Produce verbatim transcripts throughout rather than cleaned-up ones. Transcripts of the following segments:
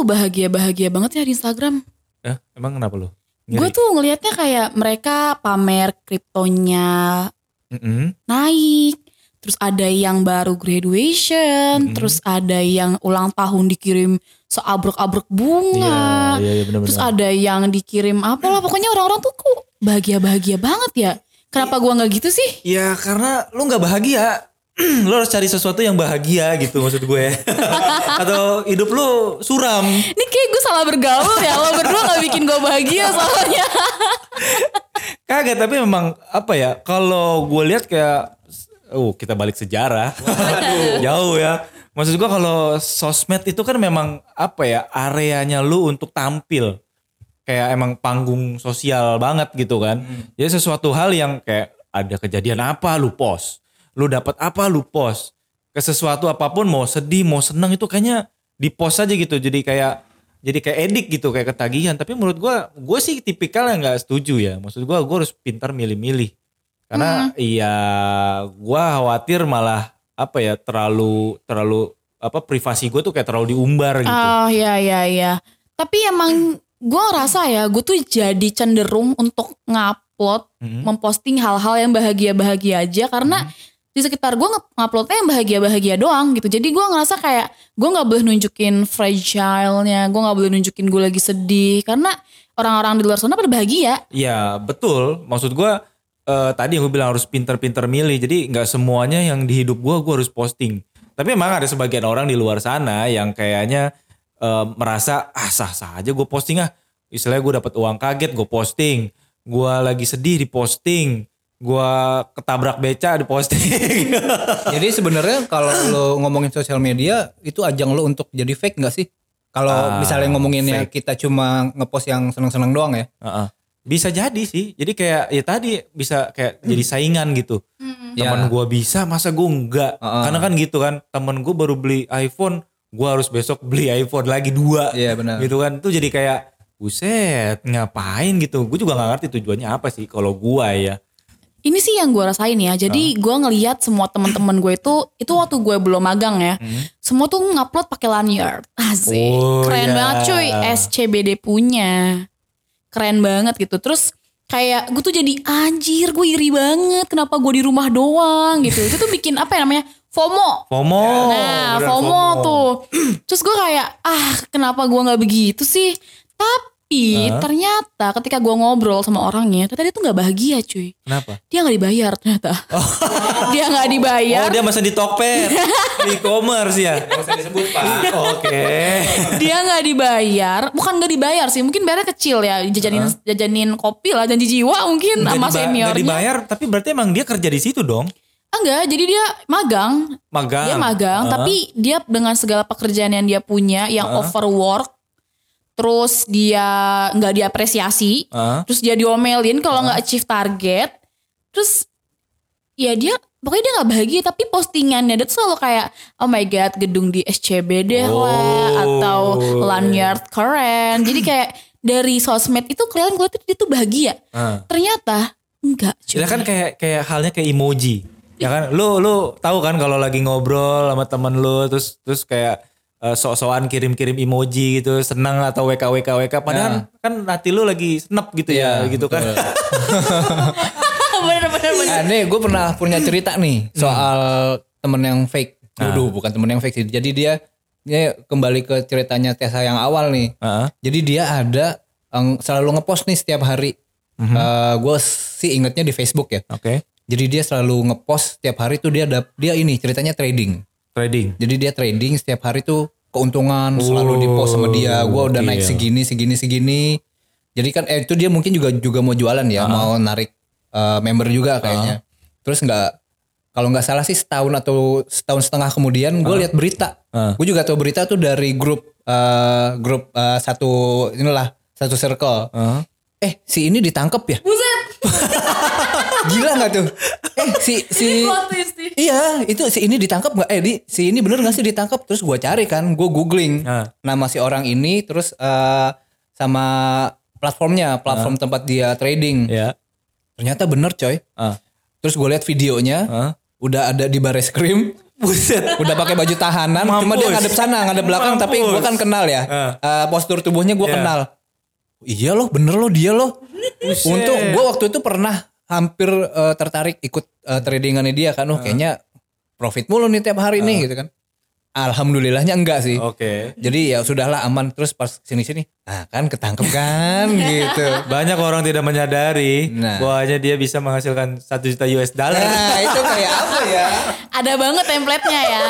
tuh bahagia-bahagia banget ya di Instagram. Eh, emang kenapa lu? Gue tuh ngelihatnya kayak mereka pamer kriptonya Mm-mm. naik. Terus ada yang baru graduation, Mm-mm. terus ada yang ulang tahun dikirim seabrek-abrek bunga. Iya, iya, iya, bener-bener. Terus ada yang dikirim apalah, pokoknya orang-orang tuh kok bahagia-bahagia banget ya. Kenapa gua nggak gitu sih? Ya karena lu nggak bahagia. Lu harus cari sesuatu yang bahagia gitu maksud gue. Atau hidup lu suram. Ini kayak gue salah bergaul ya, lo berdua gak bikin gue bahagia soalnya. Kagak, tapi memang apa ya, kalau gue lihat kayak, oh kita balik sejarah. Jauh ya. Maksud gue kalau sosmed itu kan memang apa ya, areanya lu untuk tampil. Kayak emang panggung sosial banget gitu kan. Hmm. Jadi sesuatu hal yang kayak ada kejadian apa lu post. Lu dapat apa lu post. Ke sesuatu apapun, mau sedih mau senang itu kayaknya di post aja gitu. Jadi kayak jadi kayak edik gitu, kayak ketagihan. Tapi menurut gue, gue sih tipikal yang gak setuju ya. Maksud gue, gue harus pintar milih-milih. Karena hmm. iya gue khawatir malah apa ya, terlalu terlalu apa privasi gue tuh kayak terlalu diumbar gitu. Oh iya iya iya. Tapi emang gue ngerasa ya, gue tuh jadi cenderung untuk ngupload, hmm. memposting hal-hal yang bahagia-bahagia aja. Karena hmm. di sekitar gue nguploadnya yang bahagia-bahagia doang gitu. Jadi gue ngerasa kayak gue gak boleh nunjukin fragile-nya. Gue gak boleh nunjukin gue lagi sedih. Karena orang-orang di luar sana pada bahagia. Iya betul. Maksud gue uh, tadi yang gue bilang harus pinter-pinter milih. Jadi gak semuanya yang di hidup gue, gue harus posting. Tapi emang ada sebagian orang di luar sana yang kayaknya uh, merasa ah sah-sah aja gue posting ah. Istilahnya gue dapet uang kaget gue posting. Gue lagi sedih di posting. Gua ketabrak beca di posting. Jadi sebenarnya kalau lo ngomongin sosial media itu ajang lo untuk jadi fake nggak sih? Kalau uh, misalnya ngomonginnya fake. Kita cuma ngepost yang seneng-seneng doang ya? Uh-uh. Bisa jadi sih. Jadi kayak ya tadi bisa kayak hmm. jadi saingan gitu. Hmm. Temen ya. Gua bisa, masa gua enggak? Uh-uh. Karena kan gitu kan. Temen gua baru beli iPhone, gua harus besok beli iPhone lagi dua. Iya benar. Gitu kan. Itu jadi kayak buset ngapain gitu. Gua juga nggak ngerti tujuannya apa sih kalau gua ya. Ini sih yang gue rasain ya. Jadi gue ngelihat semua teman-teman gue itu itu waktu gue belum magang ya. Hmm. Semua tuh ngupload pakai lanyard. Asik. Oh, keren yeah. banget cuy. S C B D punya. Keren banget gitu. Terus kayak gue tuh jadi anjir, gue iri banget. Kenapa gue di rumah doang gitu. Itu tuh bikin apa ya namanya? FOMO. FOMO. Nah, FOMO, FOMO tuh. Terus gue kayak ah, kenapa gue enggak begitu sih? Tapi Huh? ternyata ketika gue ngobrol sama orangnya, ternyata dia tuh gak bahagia cuy. Kenapa? Dia gak dibayar ternyata. Oh. Dia gak dibayar. Oh dia masa di Tokped. Di e-commerce ya. Gak usah disebut Pak. Oke. Okay. Dia gak dibayar. Bukan gak dibayar sih. Mungkin bayarnya kecil ya. Jajanin, huh? jajanin kopi lah. Janji jiwa mungkin gak sama diba- seniornya. Gak dibayar. Tapi berarti emang dia kerja di situ dong. Enggak. Jadi dia magang. Magang. Dia magang. Uh-huh. Tapi dia dengan segala pekerjaan yang dia punya. Yang uh-huh. overwork. Terus dia gak diapresiasi. Uh. Terus dia diomelin kalau uh. gak achieve target. Terus ya dia pokoknya dia gak bahagia. Tapi postingannya dia tuh selalu kayak oh my god gedung di S C B D oh. lah. Atau lanyard keren. Jadi kayak dari sosmed itu kelihatan gue tuh dia tuh bahagia. Uh. Ternyata enggak. Ya kan kayak kayak halnya kayak emoji. Ya kan lu lu tahu kan kalau lagi ngobrol sama temen lu. Terus terus kayak Uh, sok-sokan kirim-kirim emoji gitu, senang atau W K W K W K padahal ya. Kan hati lu lagi snap gitu ya, ya gitu betul. Kan. Bener-bener. Nah, nih gue pernah punya cerita nih soal hmm. temen yang fake. Waduh, nah. bukan temen yang fake sih. Jadi dia dia kembali ke ceritanya Tessa yang awal nih. Uh-huh. Jadi dia ada um, selalu ngepost nih setiap hari. Uh-huh. Uh, gue sih ingetnya di Facebook ya. Oke. Okay. Jadi dia selalu ngepost setiap hari tuh dia ada dia ini ceritanya trading. Trading. Jadi dia trading setiap hari tuh keuntungan oh, selalu di post sama dia. Gue udah okay, naik segini segini segini. Jadi kan eh, itu dia mungkin juga juga mau jualan ya, uh-huh. mau narik uh, member juga kayaknya. Uh-huh. Terus nggak kalau nggak salah sih setahun atau setahun setengah kemudian gue uh-huh. lihat berita. Uh-huh. Gue juga tahu berita tuh dari grup uh, grup uh, satu inilah satu circle. Uh-huh. Eh si ini ditangkap ya? Buset. Gila nggak tuh? Eh si si iya itu si ini ditangkap nggak? Eh di si ini bener nggak sih ditangkap? Terus gue cari kan, gue googling uh. nama si orang ini, terus uh, sama platformnya, platform uh. tempat dia trading. Yeah. Ternyata bener coy. Uh. Terus gue lihat videonya, uh. udah ada di Barreskrim. Buset. Udah pakai baju tahanan, Mampus. cuma dia ngadep sana, ngadep belakang. Mampus. Tapi gue kan kenal ya, Uh. uh, postur tubuhnya gue Yeah. kenal. Iya loh, bener loh dia loh. Buset. Untuk gue waktu itu pernah hampir uh, tertarik ikut uh, tradingannya dia kan, oh kayaknya profit mulu nih tiap hari Uh. nih gitu kan. Alhamdulillahnya enggak sih. Oke. Okay. Jadi ya sudahlah aman. Terus pas sini-sini, nah kan ketangkep kan gitu. Banyak orang tidak menyadari Nah. bahwanya dia bisa menghasilkan satu juta U S dollar. Nah itu kayak apa ya? Ada banget template-nya ya.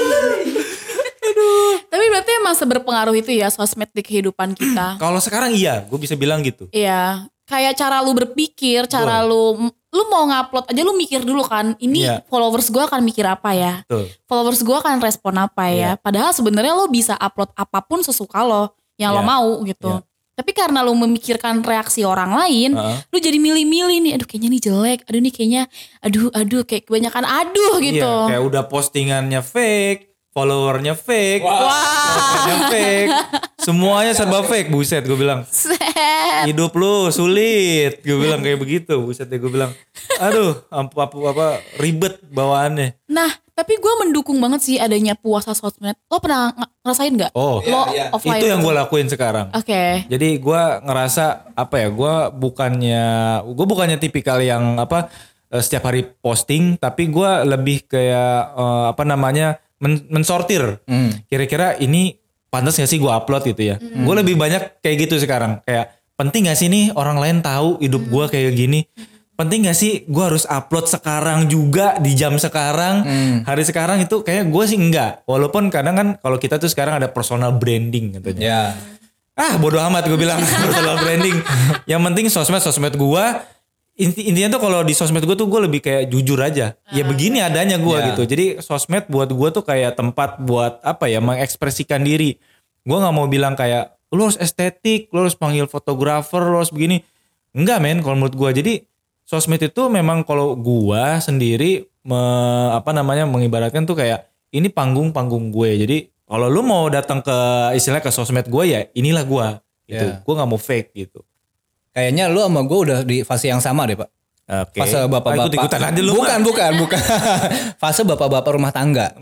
Tapi berarti emang seberpengaruh itu ya sosmed di kehidupan kita. Kalau sekarang iya, gue bisa bilang gitu. Iya, kayak cara lu berpikir, cara lu lu mau ngupload aja lu mikir dulu kan. Ini Iya. followers gue akan mikir apa ya? Betul. Followers gue akan respon apa ya? Iya. Padahal sebenarnya lo bisa upload apapun sesuka lo yang lo Iya. mau gitu. Iya. Tapi karena lu memikirkan reaksi orang lain, Uh-huh. lu jadi milih-milih nih. Aduh kayaknya nih jelek. Aduh nih kayaknya, aduh aduh kayak kebanyakan aduh gitu. Iya, kayak udah postingannya fake, followernya fake, Wah. kontennya fake, semuanya serba fake. Buset, gue bilang. Set. Hidup lu sulit, gue bilang kayak begitu. Buset deh, gue bilang, aduh, apa, apa, apa ribet bawaannya. Nah, tapi gue mendukung banget sih adanya puasa sosmed. Lo pernah ng- ngerasain nggak? Oh, Lo iya. offline itu yang gue lakuin sekarang. Oke. Jadi gue ngerasa apa ya, gue bukannya, gue bukannya tipikal yang apa eh, setiap hari posting, tapi gue lebih kayak eh, apa namanya men- mensortir. Hmm. Kira-kira ini pantas gak sih gue upload gitu ya? Gue lebih banyak kayak gitu sekarang. Kayak penting gak sih nih orang lain tahu hidup gue kayak gini? Penting gak sih gue harus upload sekarang juga di jam sekarang, hari sekarang itu kayak gue sih enggak. Walaupun kadang kan kalau kita tuh sekarang ada personal branding katanya. Ya. Ah bodo amat gue bilang personal branding. Yang penting sosmed sosmed gue. Inti, intinya tuh kalau di sosmed gue tuh gue lebih kayak jujur aja. Ya begini adanya gue Ya. gitu. Jadi sosmed buat gue tuh kayak tempat buat apa ya mengekspresikan diri. Gue nggak mau bilang kayak lu harus estetik, lu harus panggil fotografer, lu harus begini. Enggak men kalau menurut gue. Jadi sosmed itu memang kalau gue sendiri me, apa namanya mengibaratkan tuh kayak ini panggung-panggung gue. Jadi kalau lu mau datang ke istilahnya ke sosmed gue ya inilah gue. Gitu. Ya. Gue nggak mau fake gitu. Kayaknya lu sama gue udah di fase yang sama deh Pak. Oke. Fase bapak-bapak. Ikut-ikutan aja lu. Bukan, mah. bukan, bukan. Fase bapak-bapak rumah tangga.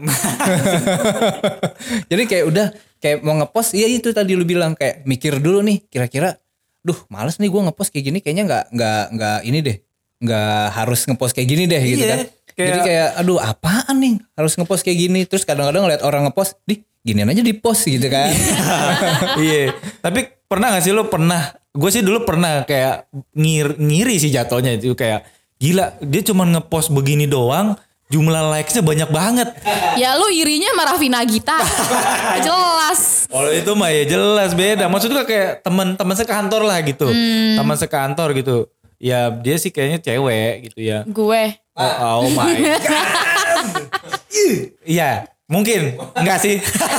Jadi kayak udah kayak mau ngepost, iya itu tadi lu bilang kayak mikir dulu nih, kira-kira, duh males nih gue ngepost kayak gini, kayaknya nggak nggak nggak ini deh, nggak harus ngepost kayak gini deh gitu Iya, kan. kayak- Jadi kayak, aduh apaan nih harus ngepost kayak gini. Terus kadang-kadang ngeliat orang ngepost, di ginian aja di post gitu kan. Iya. Tapi pernah gak sih lu pernah? Gue sih dulu pernah kayak ngir, ngiri sih jatuhnya itu kayak gila dia cuma ngepost begini doang jumlah likesnya banyak banget. Ya lu irinya sama Raffi Nagita. Jelas. Kalau itu mah ya jelas beda. Maksudnya kayak teman-teman sekantor lah gitu. Teman sekantor gitu. Ya dia sih kayaknya cewek gitu ya. Gue. Oh, oh my god. Iya, mungkin enggak sih.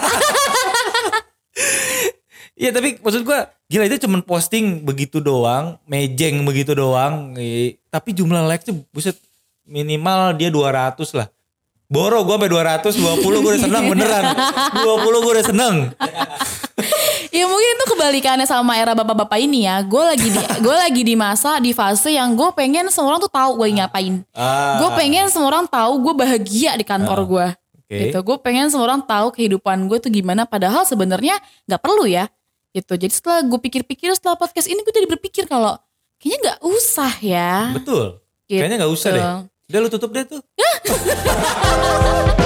Iya tapi maksud gue gila itu cuman posting begitu doang, mejeng begitu doang. I- Tapi jumlah likes-nya buset minimal dia dua ratus lah. Boro gue sampai dua ratus dua puluh gue udah seneng beneran. dua puluh gue udah seneng. Ya mungkin itu kebalikannya sama era bapak-bapak ini ya. Gue lagi di gue lagi di masa di fase yang gue pengen semua orang tuh tahu gue ngapain. Ah. Gue pengen semua orang tahu gue bahagia di kantor gue. Oke. Gitu. Gue pengen semua orang tahu kehidupan gue tuh gimana. Padahal sebenarnya nggak perlu ya. Gitu. Jadi setelah gue pikir-pikir setelah podcast ini gue jadi berpikir kalau kayaknya nggak usah ya. Betul. Gitu. Kayaknya gak usah deh. Udah lu tutup deh tuh.